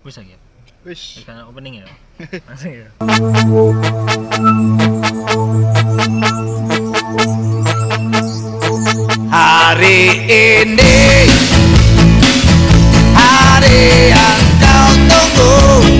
Wis ya. Wis. Kan opening ya. Langsung ya. Hari ini hari yang kau tunggu,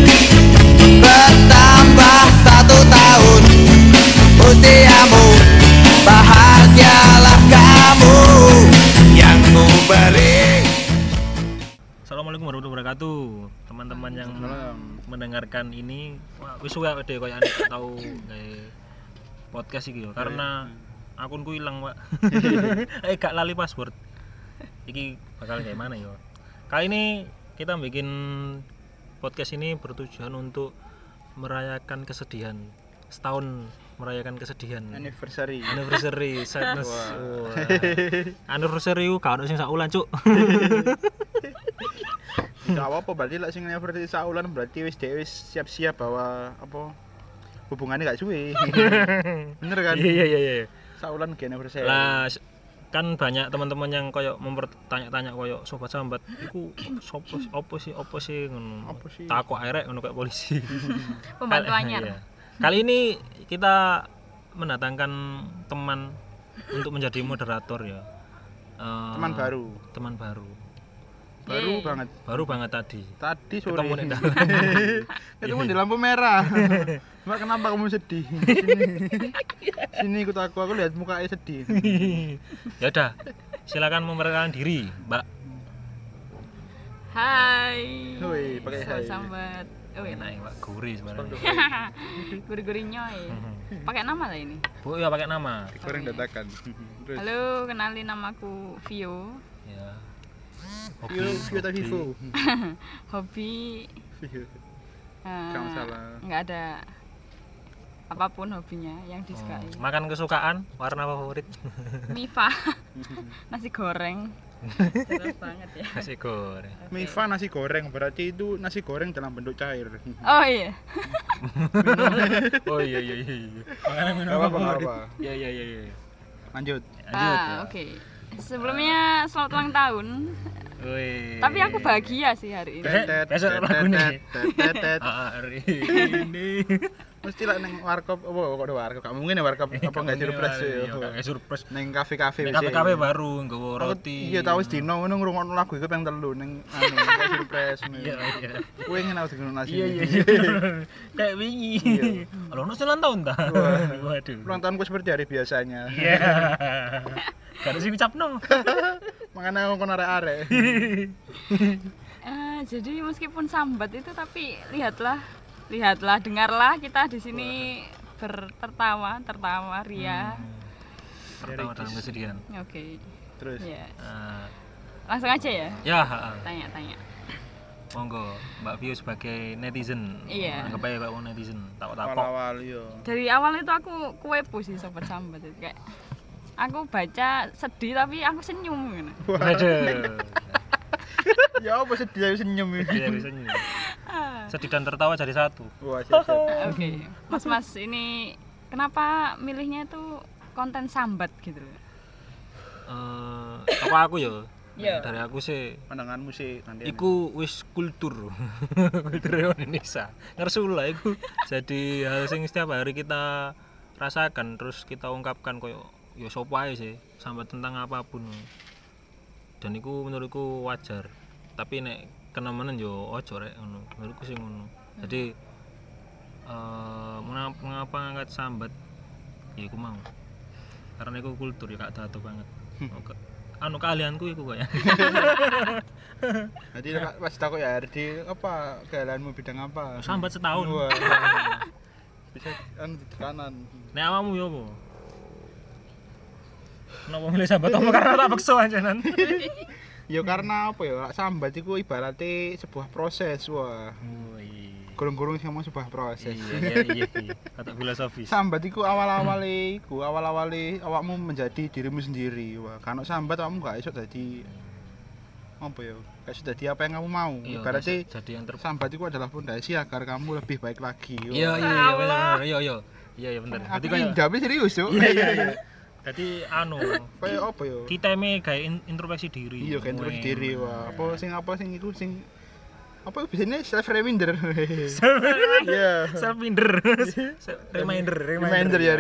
bertambah 1 tahun usiamu, bahagialah kamu yang ku beri. Assalamualaikum warahmatullahi wabarakatuh. Teman-teman yang mendengarkan ini wis suwe deh koyo ane tau gawe podcast iki yo karena akunku ilang, Pak. Gak lali password. Iki bakal kayak mana yo. Kali ini kita bikin podcast ini bertujuan untuk merayakan kesedihan. Setahun merayakan kesedihan. Anniversary Sadness. Wah. Anniversary ku gak ono sing sak ulan, Cuk. Gak apa-apa, berarti lek sing anniversary saulan berarti wis dhewe siap-siap bahwa apa hubungannya gak suwe. Bener kan? Iya. Saulan ge anniversary. Lah kan banyak teman-teman yang koyo mempertanya-tanya koyo sobat sambat iku opo sih ngono. Apa sih? Takok arek ngono kayak polisi. Pembantu anyar. Iya. Kali ini kita mendatangkan teman untuk menjadi moderator ya. Teman baru. Teman baru. Baru banget. Baru banget tadi. Tadi sore. Ketemu di dalam. Ketemu di lampu merah. Mbak, kenapa kamu sedih? Sini ikut aku lihat mukanya sedih. Ya udah. Silakan memperkenalkan diri, Mbak. Hai. Woi, pakai hai. Sambat. Oh, Enak ya, Mbak. Gurih sebenarnya. Guri-guri nyoy. Pakai nama lah ini. Bu, ya pakai nama. Goreng dadakan. Terus. Halo, kenalin namaku Vio. Ya. Vio atau Vivo? Hobi Vio. eh, Gak masalah. nggak ada apapun hobinya yang disukai. Makan kesukaan, warna favorit. Mifa. Nasi goreng. Jelas banget ya. Nasi goreng. Mifa nasi goreng, berarti itu nasi goreng dalam bentuk cair. Oh iya. Oh iya. Makanan minum Gak apa-apa, favorit. gak apa. Iya. Lanjut. Lanjut ya. Oke. Sebelumnya selamat ulang tahun. Wih. Tapi aku bahagia sih hari ini. Besok lagu nih. Tetet. Hari ini. Mesti lah neng warkop, apa kok ada warkop? Gak mungkin ya warkop apa nggak surprise Iya, ya? gak surprise. Neng kafe-kafe Nek kafe baru nggawa roti. Iya tahu wis dino ngono ngrungokno lagu iku ping 3 neng anu kayak surprise. Iya. Kowe ngene aku dengono nasi. Iya. Kayak wingi. Kalau ono ulang tahun ta? Waduh. Ulang tahunku seperti hari biasanya. Iya. Gak ada sing ngucapno. Makanya aku kon arek-arek. Jadi meskipun sambat itu tapi lihatlah, dengarlah kita di sini tertawa ria. Pertama dalam kesedihan. Oke. Terus Ya. Eh, Langsung aja ya. Ya, Tanya. monggo Mbak Vio sebagai netizen. Iya. Anggap aja Mbak netizen. Takok-takok. awal-awal yo. Dari awal itu aku kuepu sih sobat sambat itu kayak aku baca sedih tapi aku senyum gitu. Waduh. Ya apa sedih ayo senyum iki. Iya bisa senyum. Sedih dan tertawa jadi satu. Wah, siap. Oke. Mas ini kenapa milihnya itu konten sambat gitu loh? Apa aku ya? Iya. Dari aku sih Pandanganmu sih nanti. iku wis kultur Indonesia ngersul lah iku jadi hal sing setiap hari kita rasakan terus kita ungkapkan koyo ya sopo ae sih sampai tentang apapun dan iku menurutku wajar tapi nek kenemenen yo ojo rek ngono menurutku sih ngono jadi mengapa ngangkat sambat ya iku mau karena iku kultur ya gak tato banget anu keahlianku iku kok ya. Jadi pas takut ya di apa keahlianmu bidang apa? Sambat setahun. Wah. Bisa anu di kanan. Nek awakmu yo apa? Kenapa milih sambat apa karena tak bekso anjenan? Ya karena apa ya? Sambat itu ibaratnya sebuah proses. Wah. Gurung-gurung sama sebuah proses. Iya. Kata filosofis. Sambat itu awal-awale awakmu menjadi dirimu sendiri. Wah, kalau sambat awakmu gak iso dadi apa ya? Gak iso dadi apa yang kamu mau. Ibaratnya jadi yang sambat itu adalah pondasi agar kamu lebih baik lagi. Iya benar. Iya benar. Aku pindah serius, Cuk. Iya. Jadi anu kayak apa ya? Kita gawe introspeksi diri. Iya, kayak introspeksi diri. Wah, apa sing iku sing Apa biasanya self reminder. Iya. Self minder. Reminder Reminder.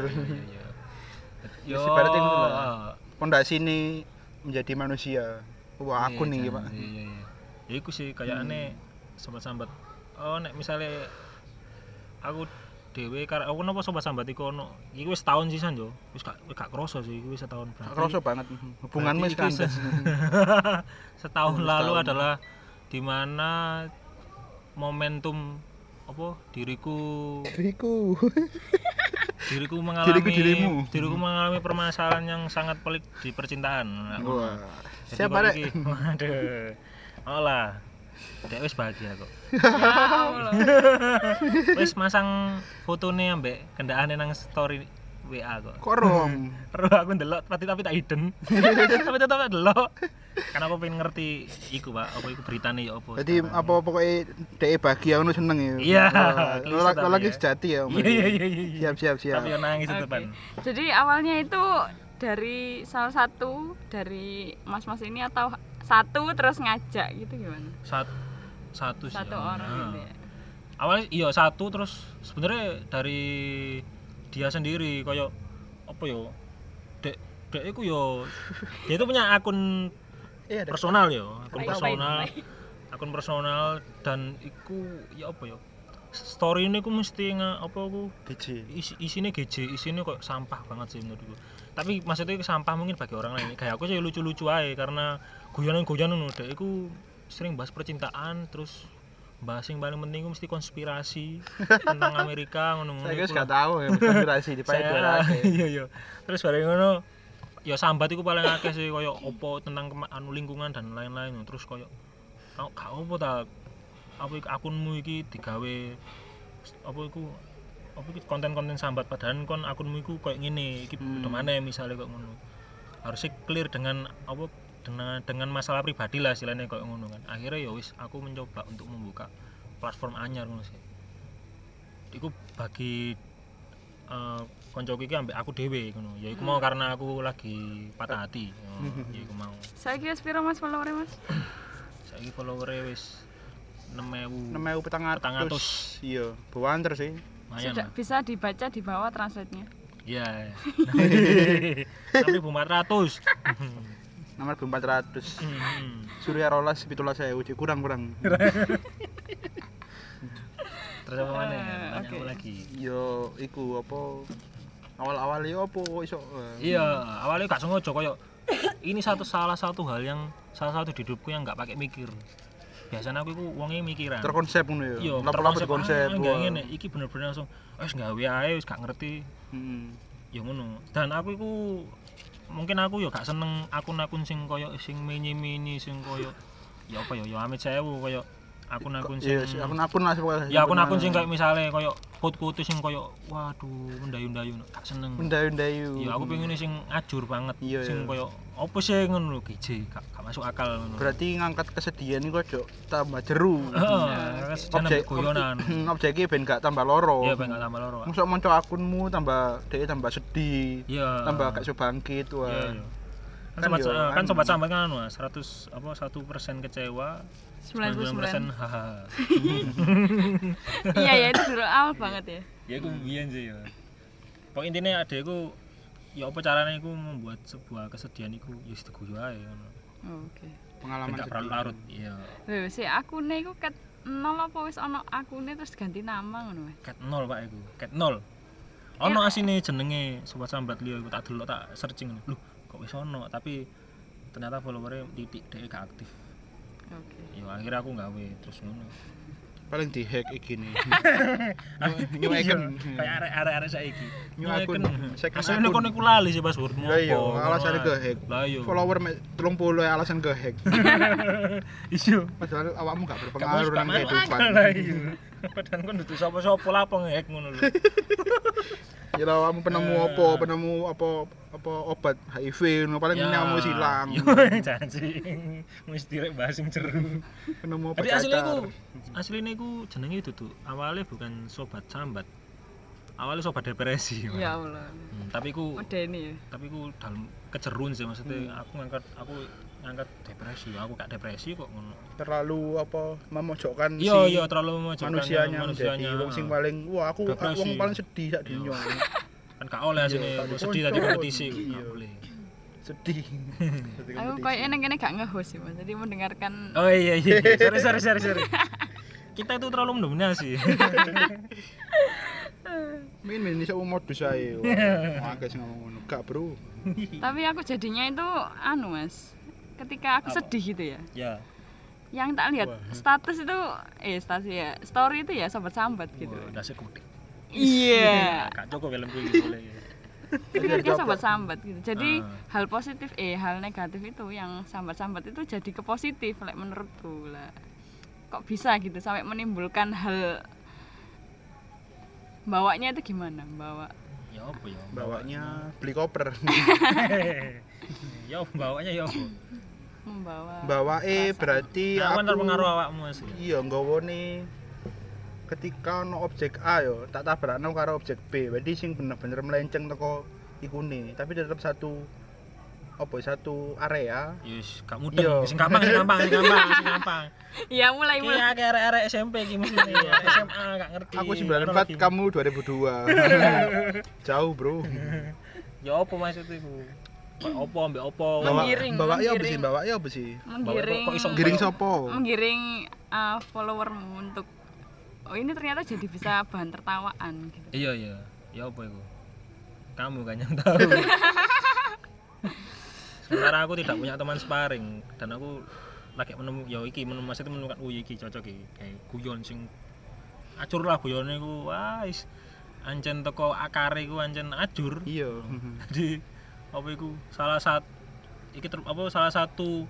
Yo. Seperti itu lah. Pondasi ini menjadi manusia. Wah, aku nih, Pak. Iya. Ya iku sih kayakane sambat-sambat. Oh nek misale aku dhewe aku napa sobat sambat iku ono. Iki wis tahun sisan yo. Wis gak kroso sih, iki wis setahun berarti. Kroso banget. Hubunganmu wis kandas. Setahun lalu adalah di mana momentum apa diriku diriku mengalami permasalahan yang sangat pelik di percintaan. Wah. Jadi Siapa kok rek? iki? Waduh. Olah. Dek wis bahagia kok. Ya Allah. Wis masang fotone ambek kendakane nang story WA kok. Kok rom? Terus aku ndelok tapi tak hidden. Tapi tetep tak delok. Karena aku pengen ngerti iku, Pak. Apa iku beritane ya apa. Jadi apa pokoknya dhek bahagia ngono seneng ya. Iya. Kalau lagi sejati ya. Iya. Siap. Tapi yo nangis Oke. tetepan. Jadi awalnya itu dari salah satu dari mas-mas ini atau satu terus ngajak gitu gimana? Satu sih. Satu orang gitu ya. Awalnya iya satu terus sebenarnya dari dia sendiri kayak apa yo? Dek iku yo dia itu punya akun Iya, personal yo, akun Baik, personal. baik. Akun personal dan iku ya apa yo? Story ini ku mesti apa aku DJ. isinya GJ, isinya kok sampah banget sih menurutku. Tapi maksudnya sampah mungkin bagi orang lain. Kayak aku sih lucu-lucu aja karena guyonan-guyonan udah aku sering bahas percintaan terus bahas yang paling penting ku mesti konspirasi tentang Amerika ngono-ngono. Saya guys gak tahu ya konspirasi di pae Iya. Terus bareng ngono ya sambat iku paling akeh sih koyo opo tentang lingkungan dan lain-lain. Terus koyo gak opo ta apa akunmu iki digawe apa iku konten-konten sambat padahal kon akunmu iku koyo ngene iki demane misale kok ngono. Harusnya clear dengan apa dengan masalah pribadi lah istilahnya koyo ngono kan. Akhirnya ya wis aku mencoba untuk membuka platform anyar ngono sih. Iku bagi koncoku iki ambek aku dhewe ngono. Ya iku mau karena aku lagi patah hati. Ya iku mau. Saiki wis piro Mas follower Mas? Saiki follower wis 6.000. 6.400. Iya, bawanter sih. Lumayan. Sudah bisa dibaca di bawah translate-nya. Iya. 6.400. Nomor 400. Surya Rolas 17.000 kurang. Terus apa mana? Nanya Oke. apa lagi? Yo iku apa awal-awal yo apa iso. Iya, awalnya gak sengaja koyo ini salah satu hal yang salah satu di hidupku yang gak pakai mikir. Biasanya aku iku wonge mikiran. Terkonsep ngono ya. Iya, Lapo-lapo konsep. Enggak ngene, iki bener-bener langsung wis gawe ae wis gak ngerti. Ya ngono. Dan aku iku mungkin aku ya gak seneng akun-akun sing koyo sing mini-mini sing koyo ya apa ya amit sewu koyo akun-akun sing Iya, akun-akun lah pokoknya. ya akun-akun sing kayak misale koyo quote-quote sing koyo waduh mendayu-ndayu gak seneng. Mendayu-ndayu. Ya aku pengen sing ajur banget Iya, sing iya. koyo apa sih ngono lho GJ gak masuk akal ngono. Berarti ngangkat kesedihan iku ojo tambah jeru. Heeh, jangan guyonan. Objeknya ben gak tambah loro. Iya ben gak tambah loro. Mosok monco akunmu tambah dhek tambah sedih. Iya. Tambah gak iso bangkit wah. Iya. Kan Sobat sambat kan 100 apa 1% kecewa 99% 99%. hahaha. Iya ya itu dulu awal banget ya. Ya iku biyen sih ya. Pokok intinya adekku ya apa caranya iku membuat sebuah kesedihan iku ya wis diguyu ae ngono. Oke. Pengalaman Gak perlu larut. Iya. Lho si akune iku ket 0 apa wis ana akune terus ganti nama ngono Mas? Cat 0 Pak iku. Cat 0. Ono asine jenenge sobat sambat liya iku tak delok tak searching. Loh, kok wis ono tapi ternyata followernya titik dhek gak aktif. Oke. Ya akhirnya aku gawe terus ngono. paling dihack iki nih. New icon. Kayak arek-arek saiki. New akun. Asline kon iku lali sih passwordmu. Lah iya, alasan ke-hack. Lah iya. Follower 30 alasan ke-hack. Iya. Padahal awakmu gak berpengaruh nang kehidupan. Lah iya. Padahal kon dudu sapa-sapa lapo nge-hack ngono lho. Ya lah awakmu penemu apa obat HIV ngono paling nyamu silang. Yo janji. Mesti rek bahas sing jeru. Penemu obat. Jadi asline iku jenenge dudu awalnya bukan sobat sambat. Awalnya sobat depresi. Ya Allah. Tapi iku Medeni ya. tapi iku dalam kejerun sih maksudnya aku ngangkat ngangkat depresi. Aku gak depresi kok ngono. Terlalu apa memojokkan Iya, terlalu memojokkan manusianya menjadi wong sing paling aku depresi. wong paling sedih sak dunya. Kan gak oleh asine Iya, sedih tadi kompetisi iya. gak boleh. Sedih. Aku kayak eneng kene gak nge-host sih, Mas. Jadi mendengarkan Oh iya. Sorry. Kita itu terlalu mendominasi. Min iso modus ae. Wah, akeh sing ngomong ngono. Gak, Bro. tapi aku jadinya itu Mas. Ketika aku sedih gitu ya. Ya. Yang tak lihat status itu story itu ya sambat gitu. Wah, dasar kudik. Iya. Gak cukup filmku iki boleh. Pikirnya sambat-sambat gitu. Jadi hal positif hal negatif itu yang sambat-sambat itu jadi ke positif menurutku lah. Kok bisa gitu sampai menimbulkan hal bawanya itu gimana? Ya apa ya? Bawanya beli koper. Ya bawanya ya apa? Membawa Berarti Aku aku terpengaruh awakmu Mas. iya nggawone ketika ono objek A yo tak tabrakno karo objek B. Berarti sing bener-bener melenceng teko ikune, tapi tetap satu area. Yes, gak mudah. Sing gampang. Iya, mulai. Iya, kayak arek-arek SMP iki mesti SMA gak ngerti. Aku 94, kamu 2002. Jauh, Bro. Ya apa maksud iku? Kayak apa ambek apa? Bawa ya apa sih? Menggiring. Kok iso Giring sopo? Menggiring followermu untuk ini ternyata jadi bisa bahan tertawaan gitu. Iya. Ya apa iku? Kamu kan yang tahu. Sementara aku tidak punya teman sparring dan aku lagi menemukan iki cocok iki kayak guyon sing acur lah guyone iku wis ancen teko akare iku ancen ajur. Iya. Jadi apa iku salah satu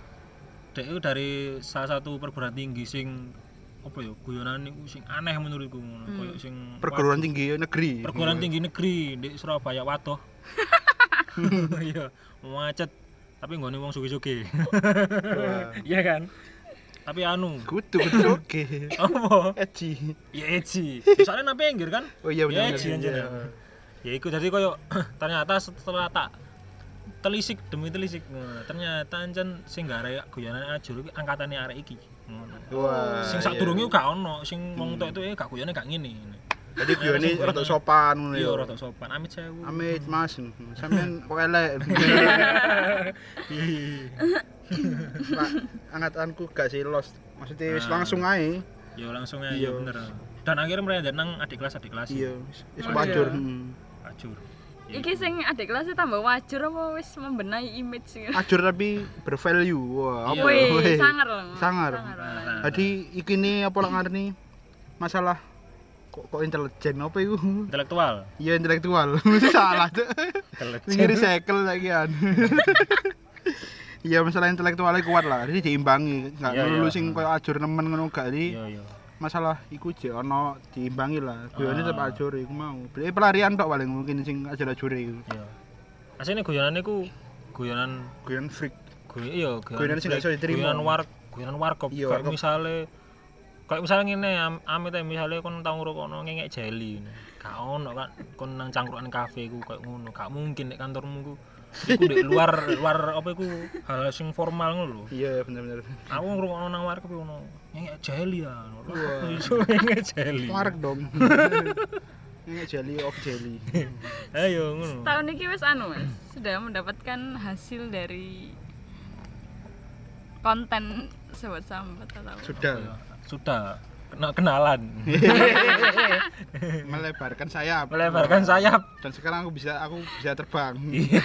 dari salah satu perguruan tinggi sing apa ya guyonan niku sing aneh menurutku koyo sing perguruan tinggi negeri. Perguruan tinggi negeri di Surabaya waduh. Iya, macet tapi nggone wong sugih-sugih. Iya kan? Tapi kudu oke. Apa? Eci. Ya eci. Soalnya nang pinggir kan? Oh iya benar. Eci anjir. Ya iku jadi koyo ternyata setelah tak telisik demi telisik ternyata ancen sing gare guyonan ajur iki angkatane arek iki. Ngono. Wah. Sing sadurunge gak ono, sing wong tok itu gak guyone gak ngene. Jadi guyone rada sopan ngono Iya, ya. rada sopan. Amit sewu. Amit Mas, sampean kok elek. Pak, angkatanku gak sih lost. Maksudnya wis langsung ae. Ya langsung ae ya bener. Dan akhirnya mereka nang adik kelas. Iya, wis wajur. Ajur. Iki sing adik kelasnya tambah wajur apa wis membenahi image gitu. Ajur tapi bervalue. Wah, apa Iya. ya? Sangar loh. Sangar. Jadi iki ne apa lah ngarani masalah kok intelijen apa iku? Intelektual. Iya intelektual. Mesti salah tuh. Ngiri cycle lagi kan. Iya masalah intelektualnya kuat lah. Jadi diimbangi. Enggak lulu sing koyo ajur nemen ngono gak iki. Iya. Masalah iku je ono diimbangi lah. Guyone tetep ajur iku mau. Beli pelarian tok paling mungkin sing ajur-ajur iku. Iya. Asline guyonan iku guyonan freak. Iya, guyonan sing gak iso diterima. Guyonan warkop. Kayak misalnya ngene, amit misale kon tau ngrokokno ngengek jeli ngene. Gak ono kan kon nang cangkrukan kafe ku kayak ngono. Gak mungkin nek kantormu ku iku di luar apa iku hal sing formal ngono lho. Iya bener. Aku ngrokokno nang warkop ngono. Ngengek jeli ya. Iso ngengek jeli. Warek dong. Ngengek jeli of jeli. Ayo ngono. Tahun ini wis Mas, sudah mendapatkan hasil dari konten sobat sambat atau Sudah kenalan. Melebarkan sayap. Dan sekarang aku bisa terbang.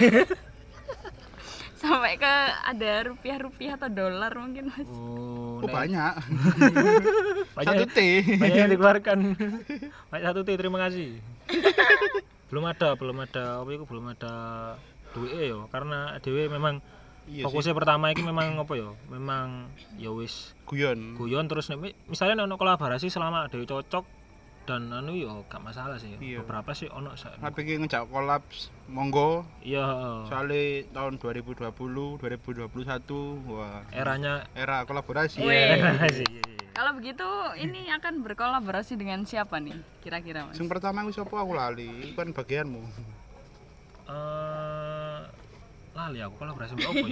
sampai ke ada rupiah atau dolar mungkin Mas. Oh banyak. Banyak 1 T. Banyak yang dikeluarkan. Banyak 1 T, terima kasih. belum ada belum ada duit ya karena dhewe memang fokusnya pertama iki memang apa ya? Memang ya wis guyon terus misalnya ono kolaborasi selama dhewe cocok dan ya gak masalah sih. Beberapa sih ono tapi iki ngejak collab monggo. Iya. Soalnya tahun 2020, 2021 wah era kolaborasi. Kalau begitu ini akan berkolaborasi dengan siapa nih kira-kira Mas? Yang pertama aku siapa aku lali, kan bagianmu. Lali aku kolaborasi apa ya?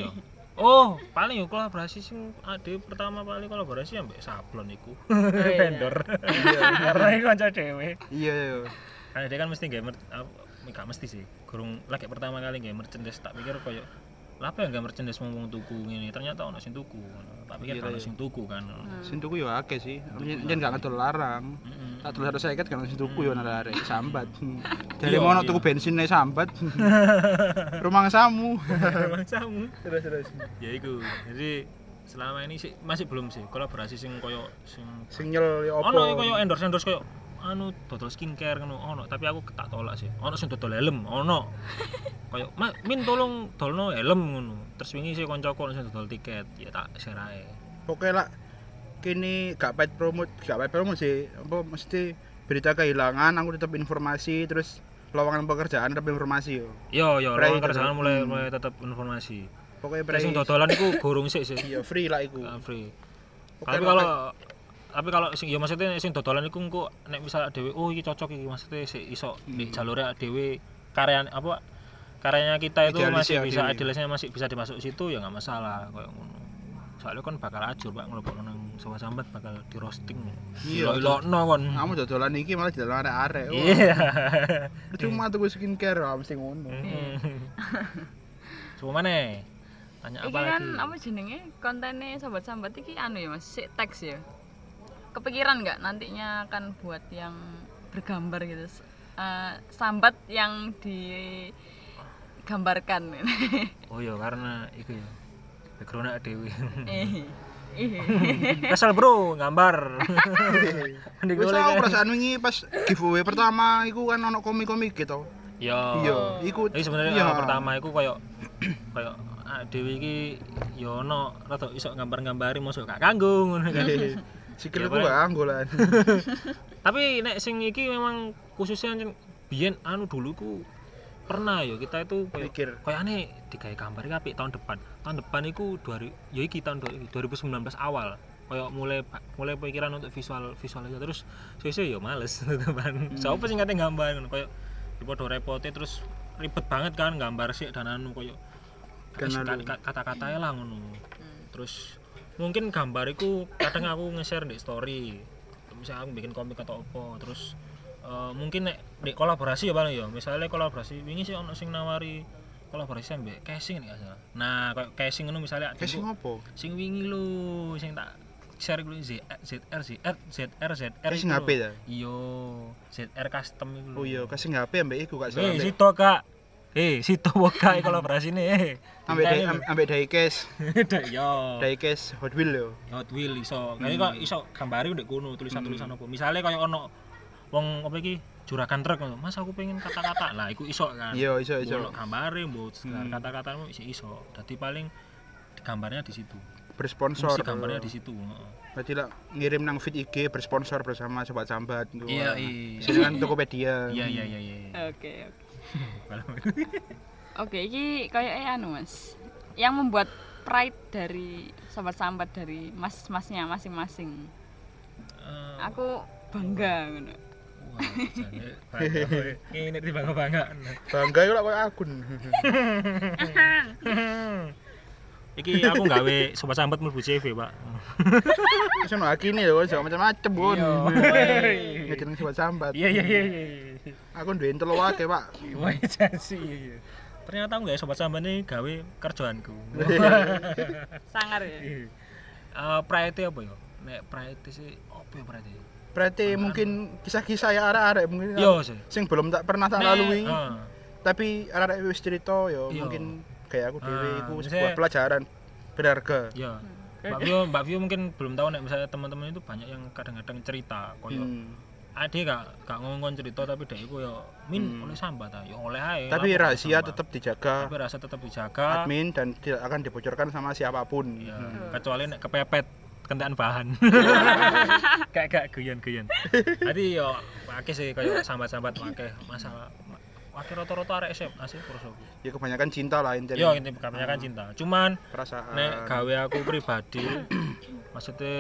Oh, paling yo kolaborasi sing ade pertama kali kolaborasi ambek Sablon iku. Vendor. Karena iku kanca dhewe. Iya iya. Kan dia kan mesti gamer gak mesti sih. Gurung lagi pertama kali gamer merchandise tak pikir koyo lha apa ya gamer merchandise wong tuku ngene. Ternyata ono sing tuku. Tak pikir ono sing tuku kan. Sing tuku yo akeh sih. Yen gak ngedol larang. Tak dulu 150 kan sing tuku yo nang arek sambat. Dari mono tuku bensinnya sambat. Rumah samu. Rumah samu. Terus. Ya iku. Jadi selama ini sih masih belum sih kolaborasi sing koyo Sing nyel yo opo? ono koyo endorse koyo anu dodol skincare ngono ono, tapi aku tak tolak sih. Ono sing dodol helm, ono. Koyo min tolong dolno helm ngono. Terus wingi sih koncoku sing dodol tiket, ya tak share ae. Pokoke lah kini gak paid promote sih. Apa mesti berita kehilangan aku tetap informasi terus lowongan pekerjaan tetap informasi yo. Yo lowongan Free kerjaan tetep. mulai tetap informasi. Pokoknya Terus sing dodolan iku gorong sik sih. iya free lah iku. Free. Oke, Tapi kalau sing ya maksudnya sing dodolan iku engko nek misal dhewe oh iki cocok iki maksudnya sik iso di jalure dhewe karyanya kita itu Idealis masih ya, bisa dhewe. idealisnya masih bisa dimasuk situ ya enggak masalah koyo ngono. Soalnya kan bakal ajur Pak ngelopokno nang Sobat Sambat bakal di roasting. Iya. Ilokno kon. Kamu dodolan iki malah didalang arek-arek. Wah, Iya. Cuma tuku skincare mesti ngono. Coba maneh. Tanya Iki apa kan lagi? apa jenenge kontennya Sobat Sambat iki anu ya Mas, sik teks ya. Kepikiran nggak nantinya akan buat yang bergambar gitu? Sambat yang digambarkan. Oh iya karena iku ya. Background dhewe. Iya. Kesel bro, gambar. Wis aku perasaan wingi pas giveaway pertama iku kan ono komik-komik gitu. Iya. Iku Jadi sebenarnya iya. pertama iku koyo dhewe iki ya ono rada iso gambar-gambari mosok gak kanggo ngono kan. Sikilku gak anggolan. Tapi nek sing iki memang khususnya biyen anu dulu ku pernah ya kita itu Mikir. koyane digawe gambar iki apik tahun depan. Tahun depan iku ya iki tahun 2019 awal. Kayak mulai pikiran untuk visual aja terus sesuk ya males teman. Sopo sing kate gambar ngono koyo dipodo repote terus ribet banget kan gambar sik dan anu koyo kata-katanya lah ngono. Terus mungkin gambar iku kadang aku nge-share di story. Misalnya aku bikin komik atau apa terus mungkin nek di kolaborasi ya Bang ya. Misalnya kolaborasi wingi sih ono sing nawari kolaborasi ambek casing nek asal. Nah, kayak casing ngono misalnya Casing opo? sing wingi lho sing tak share kuwi ZR Casing HP ta? Iya, ZR custom iku. Oh iya, casing HP ambek iku gak salah. Situ Kak. Situ wae kolaborasine. Ambek diecast. Yo. Diecast Hot Wheel yo. Hot Wheel iso. Kaya kok iso gambari ndek kono tulisan-tulisan apa. Misale kaya ono wong apa iki juragan truk ngono. Mas aku pengen kata-kata. Lah iku iso kan. Iya, iso. Ono gambare mbok kata-katamu iso. Dadi paling gambarnya di situ. Bersponsor. Mesti gambarnya di situ, heeh. Berarti lah ngirim nang feed IG bersponsor bersama Sobat Sambat. Iya. Sini kan Tokopedia. Iya. Oke. Oke, iki kayak anu Mas. Yang membuat pride dari Sobat Sambat dari mas-masnya masing-masing. Aku bangga ngono. Wah, jane ini dibangga-bangga. Bangga yo lak koyo akun. Iki aku gawe Sobat Sambat mlebu CV, Pak. Wis ono akine yo macam-macam pun. Ngejeneng Sobat Sambat. Iya. Aku duwe telu wae, Pak. Wah, jasi. Ternyata aku gawe Sobat Sambat ini gawe kerjaanku. Sangar ya. Pride apa ya? Nek pride sih apa ya pride? Berarti mungkin kisah-kisah ya arek-arek mungkin Yo sih. sing belum tak pernah tak lalui. Heeh. Tapi arek-arek wis cerita yo Iya. mungkin kayak aku dhewe iku misalnya- sebuah pelajaran berharga. Ya. Mbak Vio mungkin belum tahu nek misalnya teman-teman itu banyak yang kadang-kadang cerita koyo ade gak ngomong cerita tapi dek iku yo oleh sambat ta, yo oleh ae. Tapi Apa rahasia sambat. tetap dijaga Tapi rahasia tetap dijaga. admin dan tidak akan dibocorkan sama siapapun. Ya, kecuali nek kepepet kentekan bahan. Kayak guyon-guyon. Jadi yo akeh sih kayak sambat-sambat akeh masalah. Akeh rata-rata arek SMA sih prosoku. Ya kebanyakan cinta lah intinya. Yo intinya kebanyakan cinta. Cuman Perasaan. nek gawe aku pribadi maksudnya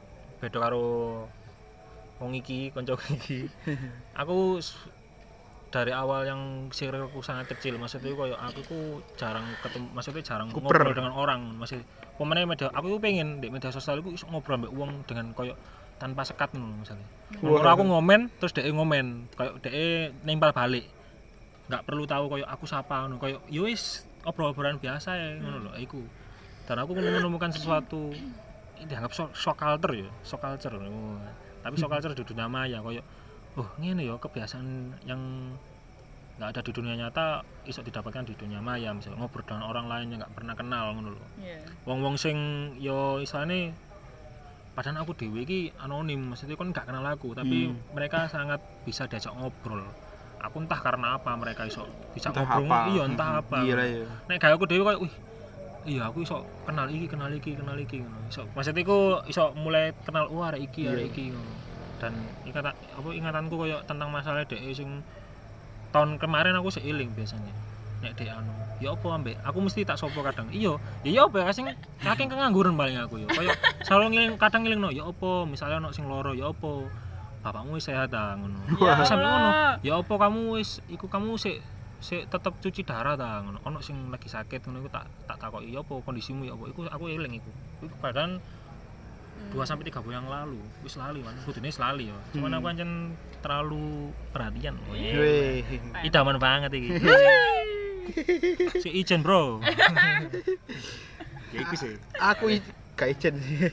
beda karo wong iki kanca iki. Aku dari awal yang circleku sangat kecil, maksudnya koyo aku ku jarang ketemu, maksudnya jarang Kuper. ngobrol dengan orang, masih pemene media aku pengen di media sosial iku iso ngobrol mbek wong dengan koyo tanpa sekat ngono misalnya. Wah. Kalau aku ngomen terus dhek ngomen, koyo dhek nempel balik. Enggak perlu tahu koyo aku sapa ngono, koyo yo wis obrol-obrolan biasa ya ngono lho iku. Dan aku menemukan sesuatu dianggap shock culture ya, shock culture. Tapi shock culture di dunia maya koyo oh ngene ya kebiasaan yang nggak ada di dunia nyata iso didapatkan di dunia maya, misalnya ngobrol dengan orang lain yang nggak pernah kenal ngono lho. Iya. Wong-wong sing yo isane padahal aku dhewe iki anonim, maksudnya kan nggak kenal aku, tapi mereka sangat bisa diajak ngobrol. Aku entah karena apa mereka iso bisa Entah ngobrol, apa. iya entah apa. Iya lah ya. Nek gawe aku dhewe koyo wih iya aku iso kenal iki ngono. Iso maksudnya iku iso mulai kenal arek iki ngono. Dan ingatanku koyo tentang masalah dhek sing tahun kemarin aku seiling biasanya. Nek dhek anu, ya apa ambek aku mesti tak sopo kadang. Iya, ya apa ya sing saking kengangguran paling aku ya. Koyo selalu ngiling kadang ngilingno ya apa, misalnya ono sing loro ya apa. Bapakmu wis sehat ta ngono. Ya Sampe ngono. Allah. Ya apa kamu wis kamu sik tetep cuci darah ta ngono. Ono sing lagi sakit ngono iku tak takoki ya apa kondisimu ya apa. Iku aku eling iku. Iku padahal 2-3 bulan yang lalu wis lali man. Kudune wis lali ya. Cuman aku pancen terlalu perhatian. Weh. Idaman banget iki. Si Ijen, Bro. Ya iku sih. Aku gak ijen sih.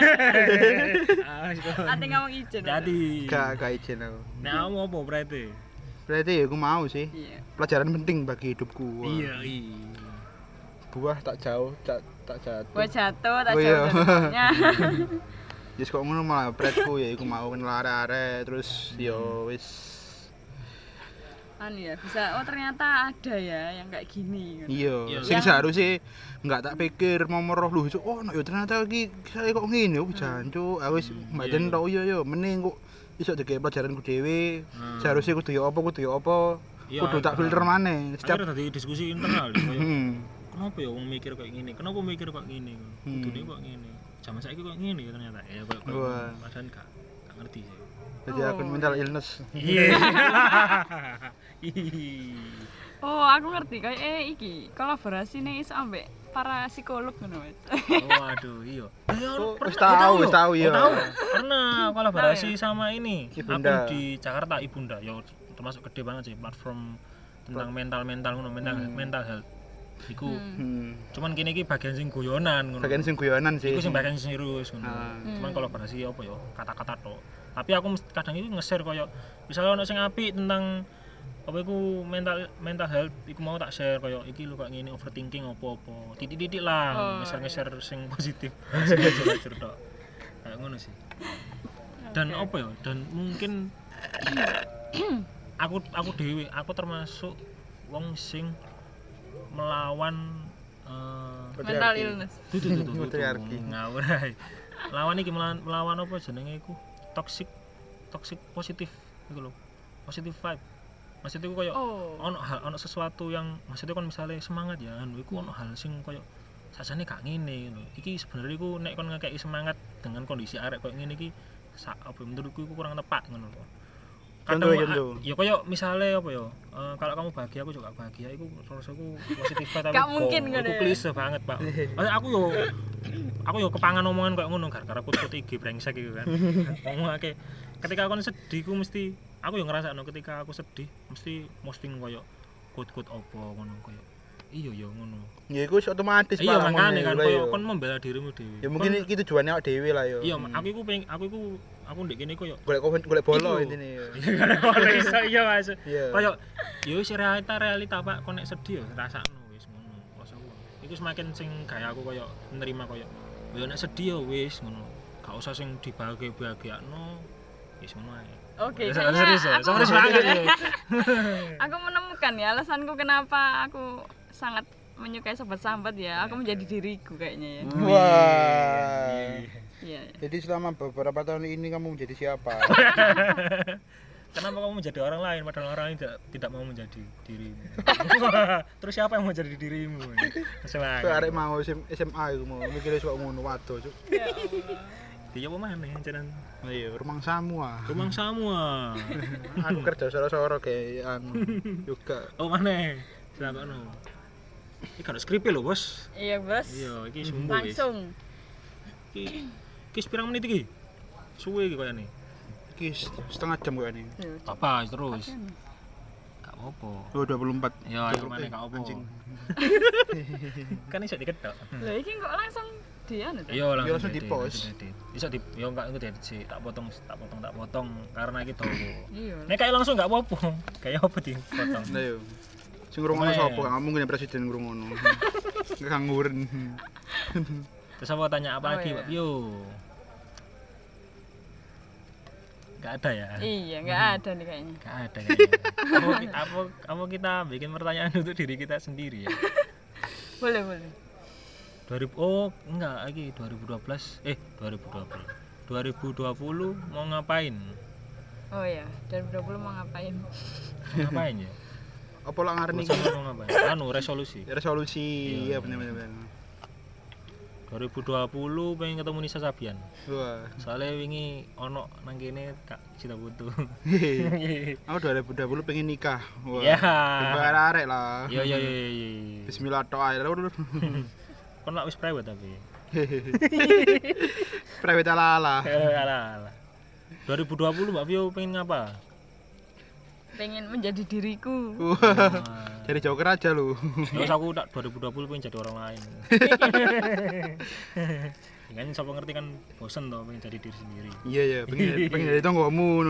Ate ngomong ijen. Jadi. Gak ijen aku. Nek kamu apa berarti? Berarti ya aku mau sih. Iya. Pelajaran penting bagi hidupku. Wah. Iya. Buah tak jauh, tak jatuh. Gua jatuh tak Oh, iya. jatuhnya. Yes kok ngono malah beratku ya iku mau kenal arek-arek terus yo wis Anu ya, bisa ternyata ada ya yang kayak gini gitu. iya Iya. sing Yang- seharusnya enggak tak pikir mau meroh lu oh no, yo ternyata iki saya kok ngene oh jancuk aku wis mbaten tok yo mending kok iso dikek pelajaranku dhewe seharusnya kudu yo apa Iya, kudu tak filter maneh Setiap setiap tadi diskusi internal kayak Hmm. kenapa ya wong mikir kayak gini? Kenapa mikir kok gini? Kudune kok gini. Zaman saiki kok gini ternyata. Ya kok Wah. padahal gak ngerti sih. jadi aku mental illness Iya. Oh, aku ngerti kayak iki kolaborasi nih iso ambek para psikolog ngono Mas. Waduh, iya. Oh, wis tahu ya. Tahu. Pernah kolaborasi sama ini. Ibunda. Akun di Jakarta Ibunda. Ya termasuk gede banget sih platform tentang mental ngono, mental health. Iku cuman kene iki bagian sing guyonan ngono. bagian sing guyonan sih Iku sing bagian sing serius ngono. Ah. Cuman kolaborasi apa ya kata-kata tok. Tapi aku kadang itu nge-share koyo misalnya ono sing apik tentang apa iku mental health iku mau tak share koyo iki lho kok ngene overthinking apa-apa. Titik-titik lah nge-share sing positif. Jujur tok. Kayak ngono sih. Dan apa ya? Dan mungkin aku dhewe aku termasuk wong sing melawan Mental illness. tuh Patriarki. ngawur ae. Lawan iki melawan apa jenenge iku toxic positif iku lho. Positive vibe. Maksudnya iku koyo Oh. ono sesuatu yang maksudnya kan misalnya semangat ya anu iku ono hal sing koyo sajane gak ngene lho. Iki sebenarnya iku nek kon ngekeki semangat dengan kondisi arek koyo ngene iki apa menurutku iku kurang tepat ngono lho. Contoh. Ya koyo misalnya apa ya kalau kamu bahagia aku juga bahagia iku rasaku positif tapi Gak mungkin ngono iku ya. klise banget Pak. Maksudnya aku yo kepangan omongan kayak ngono gara-gara kut-kut iki brengsek iku kan. Ngomongake ketika aku sedih ku mesti aku yo ngrasakno ketika aku sedih mesti posting koyo kut-kut opo ngono koyo iya yo ngono. ya iku wis otomatis Iya Pak, makane ngomongnya, kan lah, koyo ya. kon membela dirimu dhewe. Ya mungkin iki tujuannya awake dhewe lah ya. Iya aku ndek kene koyo Golek bolo Iku. intine ya. Ora iso iya Mas. Iya. Kayak ya wis realita Pak kon nek sedih ya rasakno wis ngono. Rasaku. Iku semakin sing gaya aku koyo menerima koyo ya nek sedih ya wis ngono. Gak usah sing dibahagiakno wis ngono ae. Oke, Serius kayaknya serius banget ya. aku menemukan ya alasanku kenapa aku sangat menyukai sobat sambat ya. Aku menjadi diriku kayaknya ya. Wah. Iya. Jadi selama beberapa tahun ini kamu menjadi siapa? Kenapa kamu menjadi orang lain padahal orang lain tidak mau menjadi dirimu? Terus siapa yang mau jadi dirimu? Kowe arek mau SMA iku mau mikire sok ngono waduh, Cuk. Ya Allah. Dia apa mana jenengan? Iya, rumah semua. Rumah semua. Aku kerja soro-soro kayak juga. Oh mana? Siapa no? Ini kan skripnya lho bos. Iya bos. Iya, ini sumbu guys. Langsung. Ini pirang menit iki? Suwe iki kayaknya. Iki setengah jam kok ini. Apa terus? Gak apa-apa. Oh, 24. Ya, ayo mana gak apa. Kan iso diketok. Lah iki kok langsung dianu ta? Iya langsung di-post. Iso di yo enggak engko diedit sih, tak potong karena iki dawa. Iya. Nek kayak langsung enggak apa-apa. Kayak apa dipotong. Lah yo. Sing ngrungokno sapa? Gak mungkin presiden ngrungokno. Ngangguren. Terus apa tanya apa lagi, Pak Pio? Enggak ada ya? Iya, enggak ada nih kayaknya. Enggak ada kayaknya. Apa kita bikin pertanyaan untuk diri kita sendiri ya? Boleh. 2000 oh enggak lagi 2020 mau ngapain? Oh ya, 2020 mau ngapain? Ngapain ya? Apa lah ngarani Bosan mau ngapain? Anu resolusi. resolusi? Iya bener. 2020 pengen ketemu Nisa Sabian. Wah. Soalnya wingi ono nang kene Kak Cita Putu. Aku 2020 pengen nikah. Wah. Ya. Arek lah. Iya. Bismillah tok ae. Kon lak wis private tapi. Private ala. Alah. 2020 Mbak Vio pengen ngapa? Pengen menjadi diriku. Wah. Jadi joker aja lu. Terus aku tak 2020 pengen jadi orang lain. Kan siapa ngerti kan bosen toh pengen jadi diri sendiri. Iya, pengen jadi tonggomu.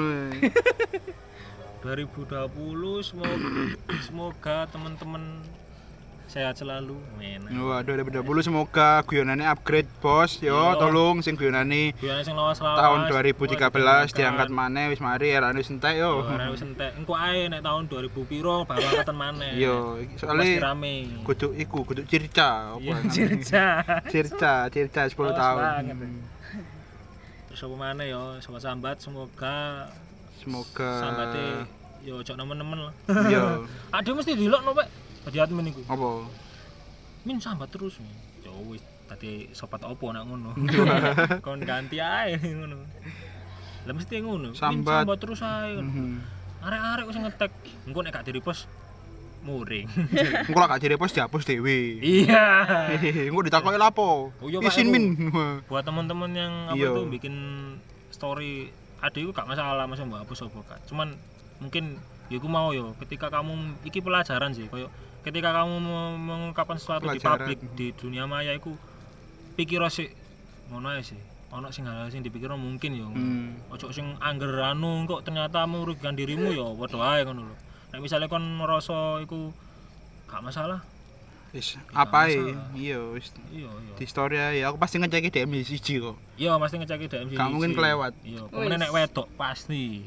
2020 semoga teman-teman sehat selalu. Men. Wah, 2020 semoga guyonane upgrade, Bos. Yo, Yo. tolong sing guyonane Guyane sing lawas-lawas. tahun 2013 diangkat maneh wis mari erane wis entek yo. Ora wis entek. Engko ae nek tahun 2000 piro baru angkatan maneh. Yo, Pasti soalnya rame. kudu circa apa? Iya, cerita. Circa 10 Lawas tahun. banget. Terus apa maneh yo, sobat sambat semoga sambate yo ojo nemen-nemen lah. Yo. Ade mesti dilokno, Pak. Dadi admin iku. Apa? Min sambat terus. Ya wis tadi sobat opo nak ngono. Kon ganti ae ngono. Lah mesti ngono. Min Sambat. sambat terus ae. Mhm. Arek-arek wis ngetek. Engko nek gak di-repost muring. Engko lak gak di-repost dihapus dhewe. Iya. Engko ditakoki lapo? Oh iya, Pak, Isin aku- min. Buat teman-teman yang apa Iya. tuh bikin story adikku gak masalah masa mbak hapus apa Kak. Cuman mungkin ya aku mau yo ketika kamu iki pelajaran sih koyo ketika kamu mengungkapkan sesuatu di Pelajaran. publik di dunia maya iku pikir sih ngono ae sih. Ono sing hal sing dipikir mungkin yo. Ojo sing angger anu kok ternyata merugikan dirimu yo padha ae ngono lho. Nek misale kon merasa iku gak masalah. Wis apae? masalah. Iya wis Iya. di story ae. Aku pasti ngeceki DM siji kok. Iya, mesti ngeceki DM sih. Gak mungkin kelewat. Iya, pokoknya nek wedok pasti.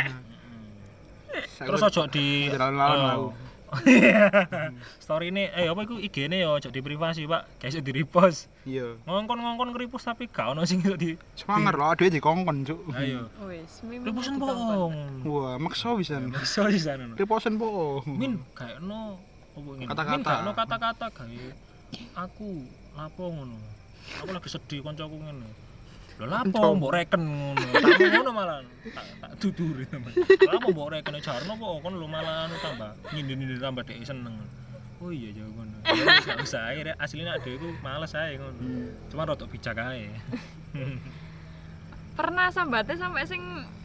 Terus Saya ojo di jalan-jalan oh. aku. Story ini apa iku IG-ne ya ojo di privasi, Pak. Kayak iso di repost. Iya. Ngongkon nge-repost tapi gak ono sing iso di Semangat lho, dhewe dikongkon, Cuk. ayo. Wis, mimpi. Repostan bohong. Wah, maksa pisan. Iso di sana. Reposten po. Min kayak no apa ngene. Kata-kata. Min gak no kata-kata gawe aku lapo ngono. Aku lagi sedih koncoku ngene. Lho lapo mbok reken ngono. Tak ngono malah tak duduri teman. Lapo mbok reken jarno kok kon lho malah anu tambah nyindir-nyindir tambah dhek seneng. Oh iya jauh ngono. Ya wis gak usah ae asline adek iku males ae ngono. Cuma rodok bijak ae. Pernah sambatnya sampai sing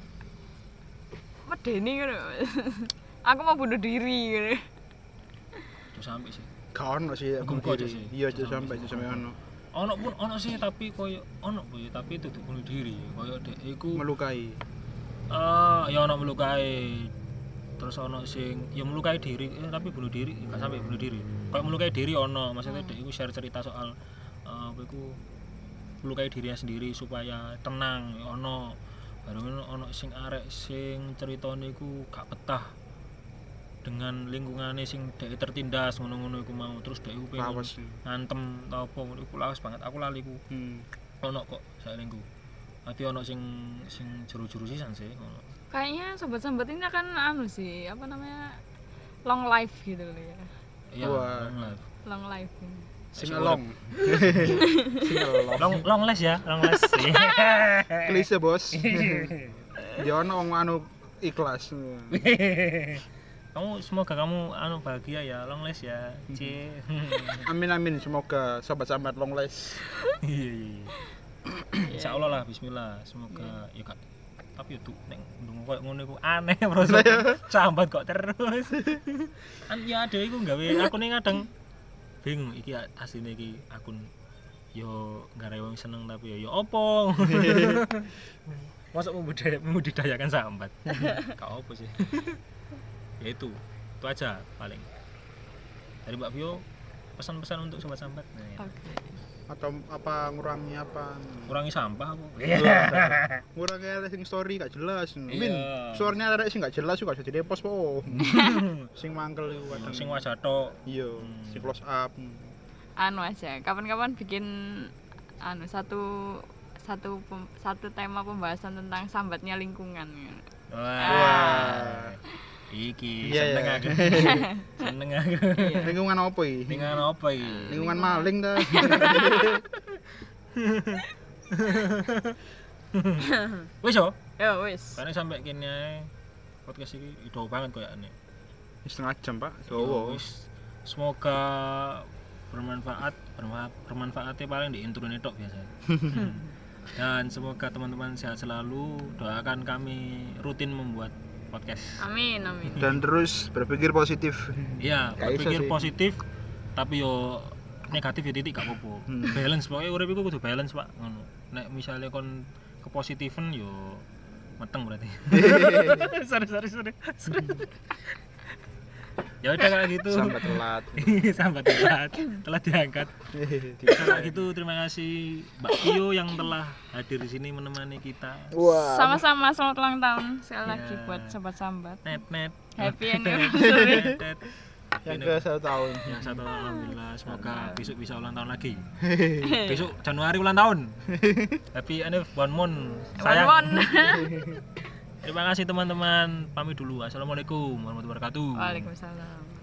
medeni ngono. Aku mau bunuh diri gitu. Terus sampai sih. Gak ono sih aku Muga-muga aja diri. sih. Iya, aja sampai ono. Ono pun ono sih tapi koyo ono boy tapi itu bunuh diri. Koyo dek iku Melukai. ya ono melukai. Terus ono sing ya melukai diri tapi bunuh diri enggak sampai bunuh diri. Kayak melukai diri ono, maksudnya dek iku share cerita soal apa iku melukai dirinya sendiri supaya tenang ya ono. Baru ono sing arek sing ceritane iku gak betah dengan lingkungannya sing dek tertindas ngono-ngono iku mau terus dek iku pengen Lawas. ngantem tau apa ngono iku lawas banget aku lali ku ono kok saelingku tapi ono sing juru-juru sisan sih ngono. Kayaknya sobat-sobat ini akan anu sih, apa namanya? Long life gitu loh ya. Iya, Wah. long life. Long life. Ini. Singelong. Long les ya, long les. Klise, Bos. Ya ono wong anu ikhlas. Semoga kamu bahagia ya, long les ya. C. Amin, semoga sobat sambat long les. Iya. Insyaallah lah, bismillah. Semoga ya Kak. Tapi yo tuh nek ndung koyo ngono iku aneh proses. Sambat kok terus. Ya ada iku gawe akune kadang bingung iki asline iki akun yo gak wong seneng tapi yo opo. Masa membudidayakan sambat. Gak opo sih. Ya itu aja paling. Dari Mbak Vio pesan-pesan untuk sobat sambat. Nah, Oke. Atau apa ngurangi apa? Kurangi sampah apa? Ngurangi ada sing story gak jelas. Iya. Min, suaranya ada sing gak jelas juga jadi repost po. Sing mangkel iku kadang. Sing wajah tok. Iya, sing close up. Anu aja, kapan-kapan bikin satu tema pembahasan tentang sambatnya lingkungan. Wah. Iki Iya, seneng iya. aku. Seneng aku. Lingkungan apa iki? Lingkungan apa iki? Lingkungan maling ta. Wis yo. Ya wis. Karena sampai kene ae podcast iki ido banget koyane. Setengah jam, Pak. Yo, Dawa. wis. Semoga bermanfaatnya paling di intro ini tok biasa. Dan semoga teman-teman sehat selalu. Doakan kami rutin membuat podcast. Amin. Dan terus berpikir positif. Iya, Gak iso berpikir sih. positif tapi yo negatif ya titik gak apa-apa. Balance pokoknya urip iku kudu balance, Pak. Ngono. Nek misale kon kepositifan yo meteng berarti. sorry. Ya udah kayak gitu. Sampai telat. Sampai telat diangkat. Kalau gitu terima kasih Mbak Vio yang telah hadir di sini menemani kita. Wah. Sama-sama selamat ulang tahun sekali lagi Ya. buat sobat sambat. Net. Happy anniversary. Net. Yang ke 1 tahun. Yang satu alhamdulillah semoga besok bisa ulang tahun lagi. Besok Januari ulang tahun. Happy anniversary one month. Sayang. Wan. Terima kasih teman-teman. Pamit dulu. Assalamualaikum warahmatullahi wabarakatuh. Waalaikumsalam.